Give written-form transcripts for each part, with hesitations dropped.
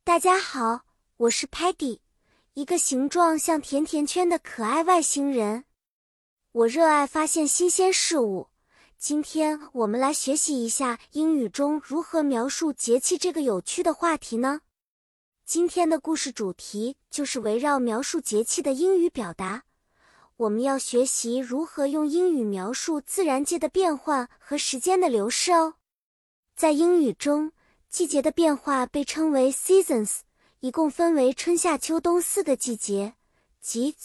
大家好，我是 Peggy， 一个形状像甜甜圈的可爱外星人。我热爱发现新鲜事物。今天我们来学习一下英语中如何描述节气这个有趣的话题呢？今天的故事主题就是围绕描述节气的英语表达。我们要学习如何用英语描述自然界的变换和时间的流逝哦。在英语中，季节的变化被称为 seasons， 一共分为春夏秋冬4个季节，即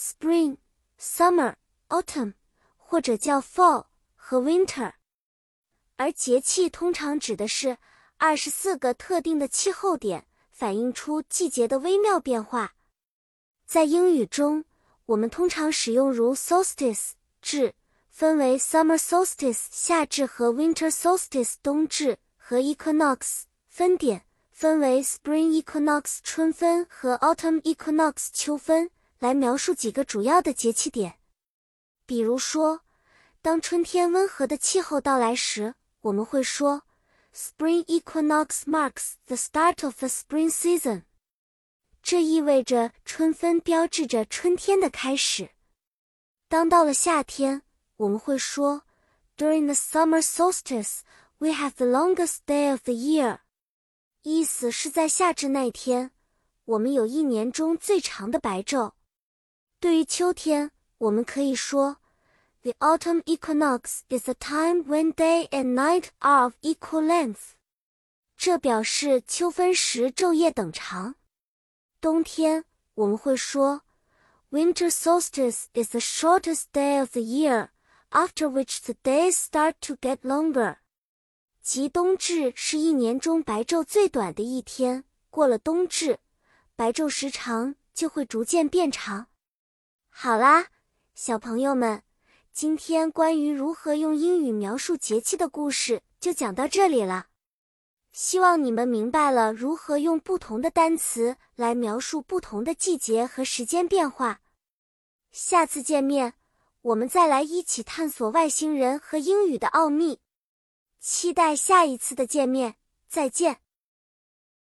spring、summer、autumn， 或者叫 fall 和 winter。而节气通常指的是24个特定的气候点，反映出季节的微妙变化。在英语中，我们通常使用如 solstice 至，分为 summer solstice 夏至和 winter solstice 冬至，和 equinox 分点，分为 spring equinox 春分和 autumn equinox 秋分，来描述几个主要的节气点。比如说，当春天温和的气候到来时，我们会说 Spring equinox marks the start of the spring season。这意味着春分标志着春天的开始。当到了夏天，我们会说 During the summer solstice, we have the longest day of the year。意思是在夏至那天，我们有一年中最长的白昼。对于秋天，我们可以说 The autumn equinox is a time when day and night are of equal length。这表示秋分时昼夜等长。冬天，我们会说 Winter solstice is the shortest day of the year, after which the days start to get longer。即冬至是一年中白昼最短的一天，过了冬至，白昼时长就会逐渐变长。好啦，小朋友们，今天关于如何用英语描述节气的故事就讲到这里了。希望你们明白了如何用不同的单词来描述不同的季节和时间变化。下次见面，我们再来一起探索外星人和英语的奥秘。期待下一次的见面，再见。